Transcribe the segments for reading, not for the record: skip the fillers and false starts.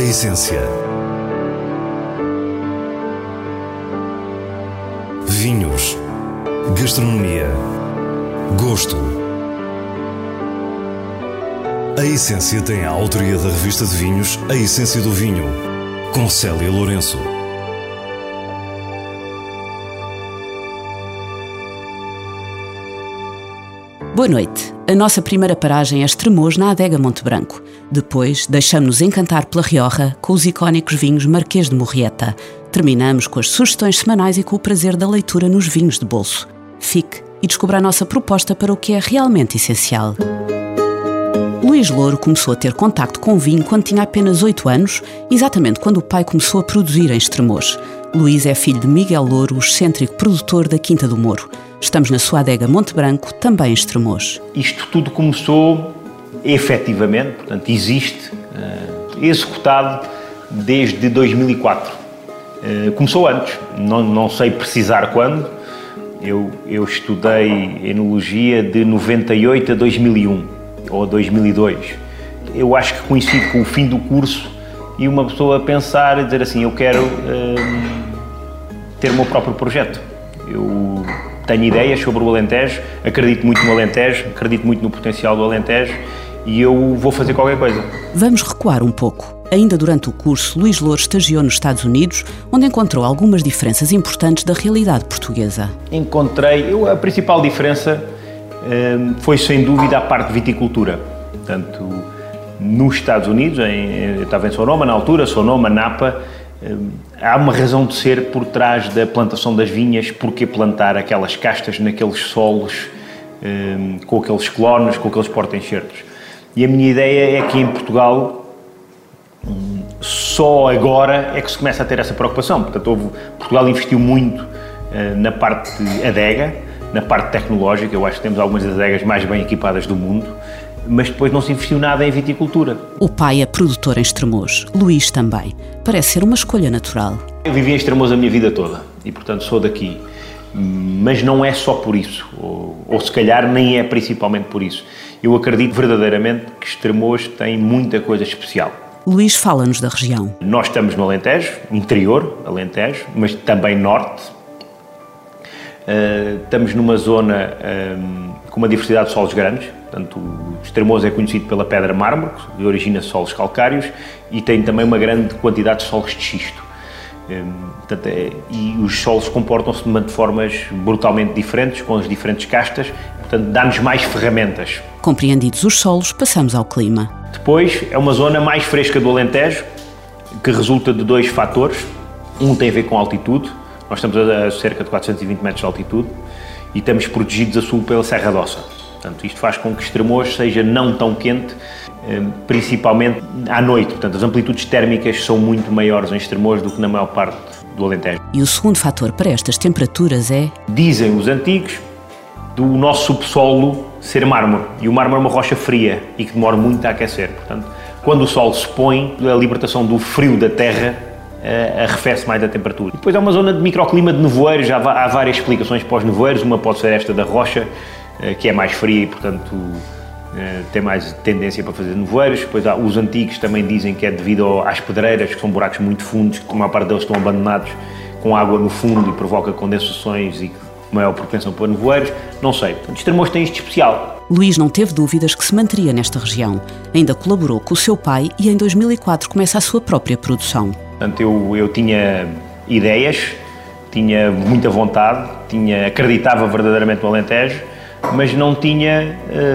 essência. Vinhos. Gastronomia. Gosto. A Essência tem a autoria da revista de vinhos A Essência do Vinho, com Célia Lourenço. Boa noite. A nossa primeira paragem é Estremoz, na Adega Monte Branco. Depois, deixamos-nos encantar pela Rioja com os icónicos vinhos Marquês de Murrieta. Terminamos com as sugestões semanais e com o prazer da leitura nos vinhos de bolso. Fique e descubra a nossa proposta para o que é realmente essencial. Luís Louro começou a ter contacto com o vinho quando tinha apenas 8 anos, exatamente quando o pai começou a produzir em Estremoz. Luís é filho de Miguel Louro, o excêntrico produtor da Quinta do Moro. Estamos na sua adega Monte Branco, também em Estremoz. Isto tudo começou, efetivamente, portanto, existe, executado desde 2004. Começou antes, não sei precisar quando. Eu estudei enologia de 98 a 2001, ou 2002. Eu acho que coincide com o fim do curso e uma pessoa a pensar e dizer assim, eu quero ter o meu próprio projeto. Eu tenho ideias sobre o Alentejo, acredito muito no Alentejo, acredito muito no potencial do Alentejo e eu vou fazer qualquer coisa. Vamos recuar um pouco. Ainda durante o curso, Luís Louro estagiou nos Estados Unidos, onde encontrou algumas diferenças importantes da realidade portuguesa. A principal diferença foi sem dúvida a parte de viticultura. Portanto, nos Estados Unidos, eu estava em Sonoma na altura, Sonoma, Napa, há uma razão de ser por trás da plantação das vinhas, porque plantar aquelas castas naqueles solos, com aqueles clones, com aqueles porta-enxertos. E a minha ideia é que em Portugal, só agora é que se começa a ter essa preocupação. Portanto, Portugal investiu muito na parte de adega, na parte tecnológica. Eu acho que temos algumas das adegas mais bem equipadas do mundo, mas depois não se investiu nada em viticultura. O pai é produtor em Estremoz, Luís também. Parece ser uma escolha natural. Eu vivi em Estremoz a minha vida toda e, portanto, sou daqui. Mas não é só por isso, ou se calhar nem é principalmente por isso. Eu acredito verdadeiramente que Estremoz tem muita coisa especial. Luís fala-nos da região. Nós estamos no Alentejo, interior, Alentejo, mas também norte. Estamos numa zona com uma diversidade de solos grandes. Portanto, o Estremoz é conhecido pela pedra mármore, que origina solos calcários, e tem também uma grande quantidade de solos de xisto. E os solos comportam-se de formas brutalmente diferentes, com as diferentes castas, portanto, dá-nos mais ferramentas. Compreendidos os solos, passamos ao clima. Depois, é uma zona mais fresca do Alentejo, que resulta de 2 fatores. Um tem a ver com a altitude. Nós estamos a cerca de 420 metros de altitude e estamos protegidos a sul pela Serra d'Ossa. Portanto, isto faz com que Estremoz seja não tão quente, principalmente à noite. Portanto, as amplitudes térmicas são muito maiores em Estremoz do que na maior parte do Alentejo. E o segundo fator para estas temperaturas é? Dizem os antigos, do nosso subsolo ser mármore. E o mármore é uma rocha fria e que demora muito a aquecer. Portanto, quando o sol se põe, a libertação do frio da terra arrefece mais a temperatura. E depois é uma zona de microclima de nevoeiros. Há várias explicações para os nevoeiros. Uma pode ser esta da rocha, que é mais fria e, portanto, tem mais tendência para fazer nevoeiros. Depois os antigos também dizem que é devido às pedreiras, que são buracos muito fundos, que a maior parte deles estão abandonados com água no fundo e provoca condensações e maior propensão para nevoeiros. Não sei. Portanto, Estremoz tem isto especial. Luís não teve dúvidas que se manteria nesta região. Ainda colaborou com o seu pai e em 2004 começa a sua própria produção. Portanto, eu tinha ideias, tinha muita vontade, acreditava verdadeiramente no Alentejo, mas não tinha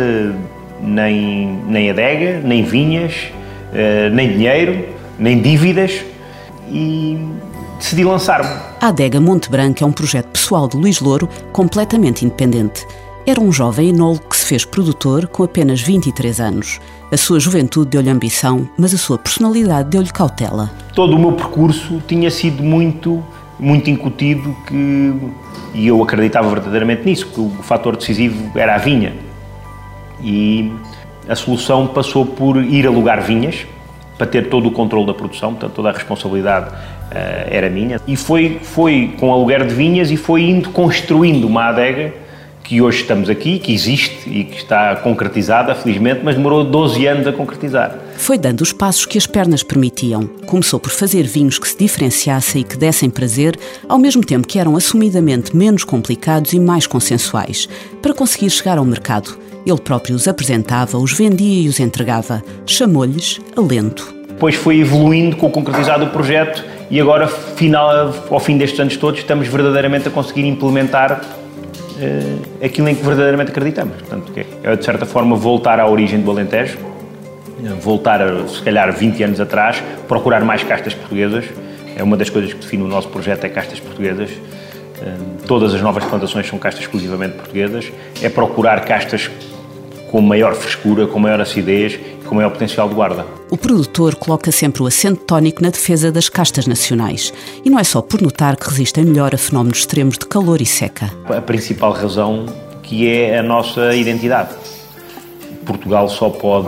nem adega, nem vinhas, nem dinheiro, nem dívidas e decidi lançar-me. A Adega Monte Branco é um projeto pessoal de Luís Louro, completamente independente. Era um jovem enólogo que se fez produtor com apenas 23 anos. A sua juventude deu-lhe ambição, mas a sua personalidade deu-lhe cautela. Todo o meu percurso tinha sido muito incutido e eu acreditava verdadeiramente nisso, que o fator decisivo era a vinha. E a solução passou por ir alugar vinhas, para ter todo o controle da produção, portanto toda a responsabilidade era minha. E foi com o aluguer de vinhas e foi indo construindo uma adega que hoje estamos aqui, que existe e que está concretizada, felizmente, mas demorou 12 anos a concretizar. Foi dando os passos que as pernas permitiam. Começou por fazer vinhos que se diferenciassem e que dessem prazer, ao mesmo tempo que eram assumidamente menos complicados e mais consensuais, para conseguir chegar ao mercado. Ele próprio os apresentava, os vendia e os entregava. Chamou-lhes Alento. Depois foi evoluindo com o concretizar do projeto e agora, ao fim destes anos todos, estamos verdadeiramente a conseguir implementar aquilo em que verdadeiramente acreditamos. Portanto, é de certa forma voltar à origem do Alentejo, voltar a, se calhar, 20 anos atrás, procurar mais castas portuguesas. É uma das coisas que define o nosso projeto, é castas portuguesas. Todas as novas plantações são castas exclusivamente portuguesas. É procurar castas com maior frescura, com maior acidez e com maior potencial de guarda. O produtor coloca sempre o acento tónico na defesa das castas nacionais. E não é só por notar que resistem melhor a fenómenos extremos de calor e seca. A principal razão que é a nossa identidade. Portugal só pode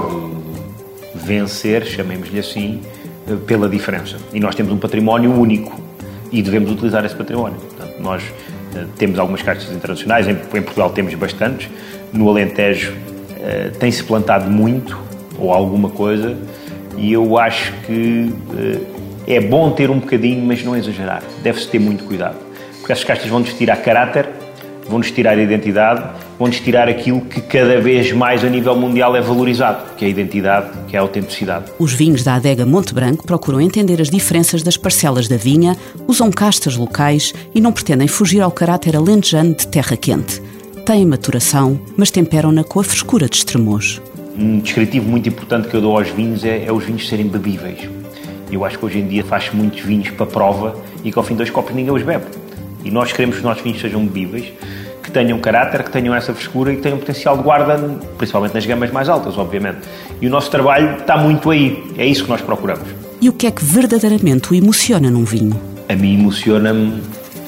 vencer, chamemos-lhe assim, pela diferença. E nós temos um património único e devemos utilizar esse património. Portanto, nós temos algumas castas internacionais, em Portugal temos bastantes, no Alentejo tem-se plantado muito, ou alguma coisa, e eu acho que é bom ter um bocadinho, mas não exagerar. Deve-se ter muito cuidado. Porque essas castas vão-nos tirar caráter, vão-nos tirar identidade, vão-nos tirar aquilo que cada vez mais a nível mundial é valorizado, que é a identidade, que é a autenticidade. Os vinhos da Adega Monte Branco procuram entender as diferenças das parcelas da vinha, usam castas locais e não pretendem fugir ao caráter alentejano de terra quente. Têm maturação, mas temperam-na com a frescura de Estremoz. Um descritivo muito importante que eu dou aos vinhos é os vinhos serem bebíveis. Eu acho que hoje em dia faz-se muitos vinhos para prova e que ao fim de 2 copos ninguém os bebe. E nós queremos que os nossos vinhos sejam bebíveis, que tenham caráter, que tenham essa frescura e que tenham potencial de guarda, principalmente nas gamas mais altas, obviamente. E o nosso trabalho está muito aí. É isso que nós procuramos. E o que é que verdadeiramente o emociona num vinho? A mim emociona-me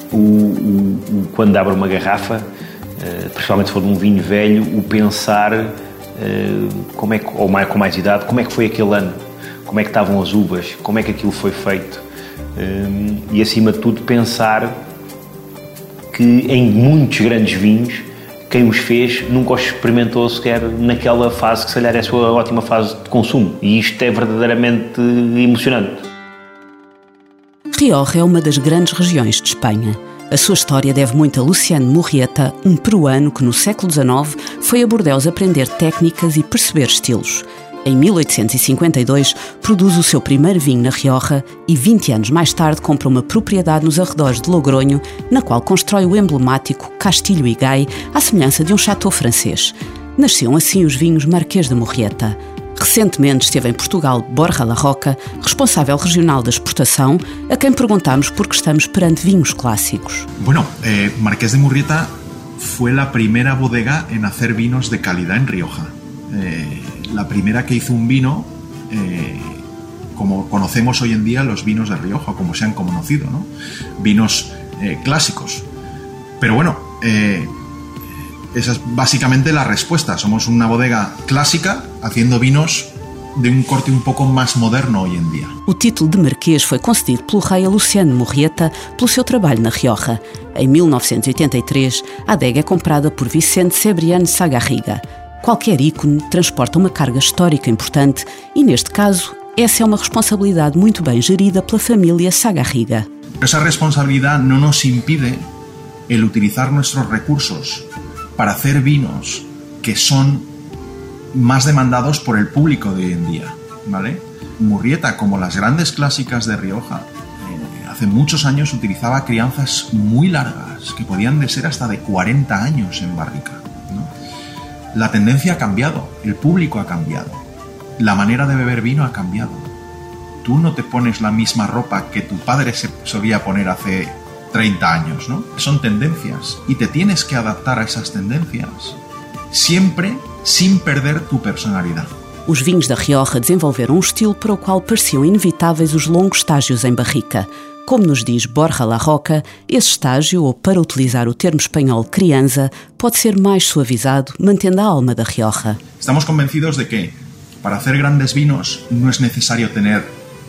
quando abre uma garrafa, principalmente se for de um vinho velho, o pensar, como é que, ou mais, com mais idade, como é que foi aquele ano, como é que estavam as uvas, como é que aquilo foi feito. E acima de tudo pensar que em muitos grandes vinhos, quem os fez nunca os experimentou sequer naquela fase que se calhar é a sua ótima fase de consumo. E isto é verdadeiramente emocionante. Rioja é uma das grandes regiões de Espanha. A sua história deve muito a Luciano Murrieta, um peruano que no século XIX foi a Bordeaux aprender técnicas e perceber estilos. Em 1852, produz o seu primeiro vinho na Rioja e 20 anos mais tarde compra uma propriedade nos arredores de Logronho, na qual constrói o emblemático Castilho Iguay, à semelhança de um château francês. Nasciam assim os vinhos Marquês de Murrieta. Recentemente esteve em Portugal Borja La Roca, responsável regional da exportação, a quem perguntámos por que estamos perante vinhos clássicos. Bueno, Marqués de Murrieta fue la primera bodega en hacer vinos de calidad en Rioja. La primera que hizo un vino, como conocemos hoy en día los vinos de Rioja, como se han conocido, ¿no? Vinos clásicos. Pero bueno, esa es básicamente la respuesta. Somos una bodega clásica haciendo vinos de um corte um pouco mais moderno hoje em dia. O título de Marquês foi concedido pelo rei Luciano Murrieta pelo seu trabalho na Rioja. Em 1983, a adega é comprada por Vicente Cebrián Sagarriga. Qualquer ícone transporta uma carga histórica importante e, neste caso, essa é uma responsabilidade muito bem gerida pela família Sagarriga. Essa responsabilidade não nos impide el utilizar nuestros recursos para hacer vinos que son más demandados por el público de hoy en día, ¿vale? Murrieta, como las grandes clásicas de Rioja, hace muchos años utilizaba crianzas muy largas, que podían de ser hasta de 40 años en barrica, ¿no? La tendencia ha cambiado, el público ha cambiado, la manera de beber vino ha cambiado. Tú no te pones la misma ropa que tu padre se solía poner hace 30 años, ¿no? Son tendencias y te tienes que adaptar a esas tendencias, sempre sem perder tu personalidade. Os vinhos da Rioja desenvolveram um estilo para o qual pareciam inevitáveis os longos estágios em barrica. Como nos diz Borja La Roca, esse estágio, ou para utilizar o termo espanhol crianza, pode ser mais suavizado, mantendo a alma da Rioja. Estamos convencidos de que para hacer grandes vinos no es necesario tener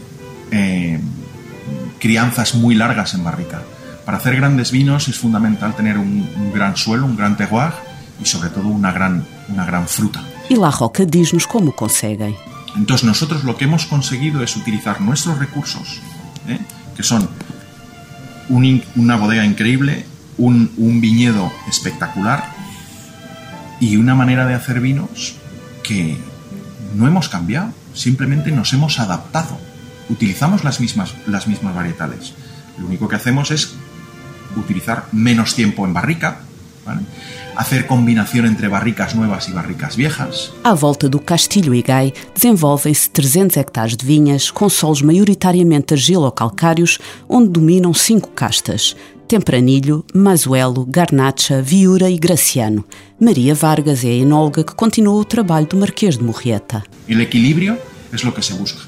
crianzas muy largas en barrica. Para hacer grandes vinos es fundamental tener un gran suelo, un gran terroir, y sobre todo una gran fruta. E La Roca diz-nos como conseguem. Entonces nosotros lo que hemos conseguido es utilizar nuestros recursos, que son una bodega increíble, un viñedo espectacular y una manera de hacer vinos que no hemos cambiado, simplemente nos hemos adaptado. Utilizamos las mismas varietales. Lo único que hacemos es utilizar menos tiempo en barrica, ¿vale? Hacer combinación entre barricas nuevas e barricas viejas. À volta do Castilho e Gai desenvolvem-se 300 hectares de vinhas com solos maioritariamente argilo-calcários, onde dominam 5 castas: Tempranillo, Mazuelo, Garnacha, Viura e Graciano. Maria Vargas é a enóloga que continua o trabalho do Marquês de Murrieta. El equilibrio es lo que se busca.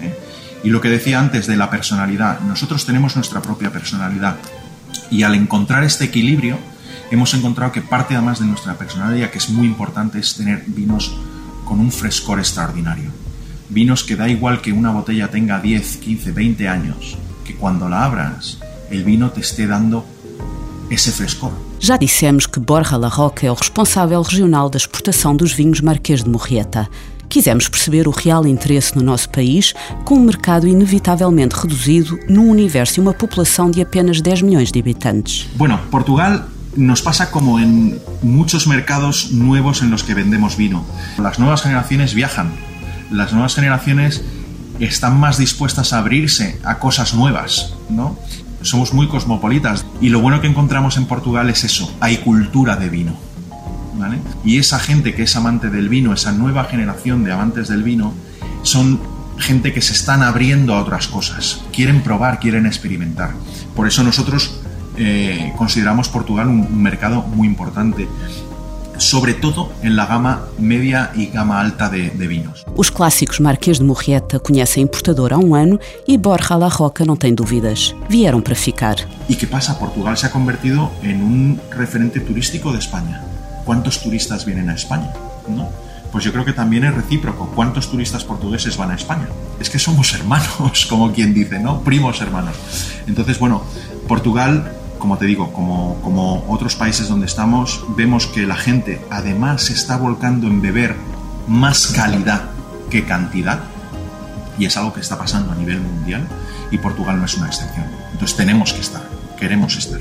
Y lo que decía antes de la personalidad, nosotros tenemos nuestra propia personalidad y al encontrar este equilibrio hemos encontrado que parte además de nuestra personalidad, que es muy importante, es tener vinos con un frescor extraordinario. Vinos que da igual que una botella tenga 10, 15, 20 años, que cuando la abras el vino te esté dando esse frescor. Já dissemos que Borja La Roca é o responsável regional da exportação dos vinhos Marquês de Murrieta. Quisemos perceber o real interesse no nosso país, com um mercado inevitavelmente reduzido num universo e uma população de apenas 10 milhões de habitantes. Bueno, Portugal nos pasa como en muchos mercados nuevos en los que vendemos vino. Las nuevas generaciones viajan, las nuevas generaciones están más dispuestas a abrirse a cosas nuevas, ¿no? Somos muy cosmopolitas y lo bueno que encontramos en Portugal es eso, hay cultura de vino, ¿vale? Y esa gente que es amante del vino, esa nueva generación de amantes del vino, son gente que se están abriendo a otras cosas, quieren probar, quieren experimentar. Por eso nosotros consideramos Portugal un mercado muy importante, sobre todo en la gama media y gama alta de vinos. Os clássicos Marquês de Murrieta conhecem a importadora há um ano e Borja La Roca não tem dúvidas. Vieram para ficar. ¿Y qué pasa? Portugal se ha convertido en un referente turístico de España. ¿Cuántos turistas vienen a España? ¿No? Pues yo creo que también es recíproco. ¿Cuántos turistas portugueses van a España? Es que somos hermanos, como quien dice, ¿no? Primos hermanos. Entonces, bueno, Portugal, como te digo, como otros países donde estamos, vemos que la gente además se está volcando en beber más calidad que cantidad, y es algo que está pasando a nivel mundial, y Portugal no es una excepción. Entonces tenemos que estar, queremos estar.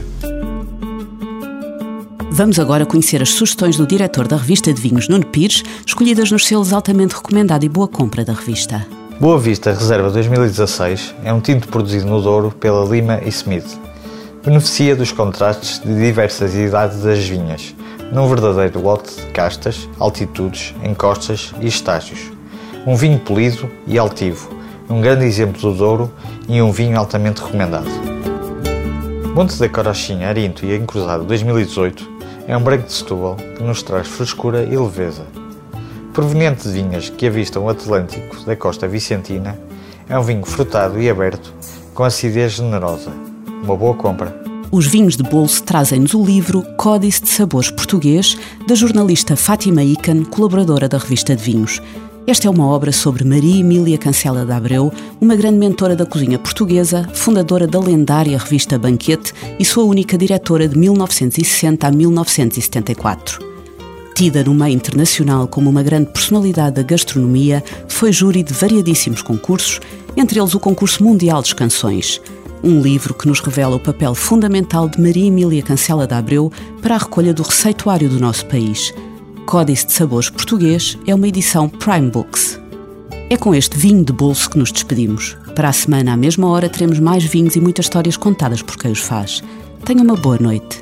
Vamos agora conhecer as sugestões do diretor da revista de vinhos, Nuno Pires, escolhidas nos selos altamente recomendado e boa compra da revista. Boa Vista Reserva 2016 é um tinto produzido no Douro pela Lima e Smith. Beneficia dos contrastes de diversas idades das vinhas, num verdadeiro lote de castas, altitudes, encostas e estágios. Um vinho polido e altivo, um grande exemplo do Douro e um vinho altamente recomendado. Monte da Corochinha, Arinto e Encruzado 2018 é um branco de Setúbal que nos traz frescura e leveza. Proveniente de vinhas que avistam o Atlântico da costa vicentina, é um vinho frutado e aberto, com acidez generosa. Uma boa compra. Os vinhos de bolso trazem-nos o livro Códice de Sabores Português, da jornalista Fátima Ican, colaboradora da revista de vinhos. Esta é uma obra sobre Maria Emília Cancela de Abreu, uma grande mentora da cozinha portuguesa, fundadora da lendária revista Banquete e sua única diretora de 1960 a 1974. Tida no meio internacional como uma grande personalidade da gastronomia, foi júri de variadíssimos concursos, entre eles o Concurso Mundial das Canções. Um livro que nos revela o papel fundamental de Maria Emília Cancela de Abreu para a recolha do receituário do nosso país. Códice de Sabores Português é uma edição Prime Books. É com este vinho de bolso que nos despedimos. Para a semana, à mesma hora, teremos mais vinhos e muitas histórias contadas por quem os faz. Tenha uma boa noite.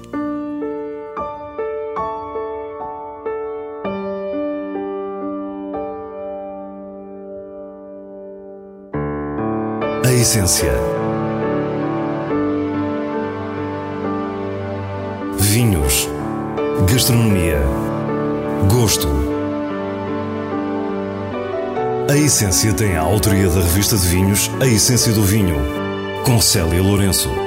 A essência. Vinhos. Gastronomia. Gosto. A Essência tem a autoria da revista de vinhos A Essência do Vinho, com Célia Lourenço.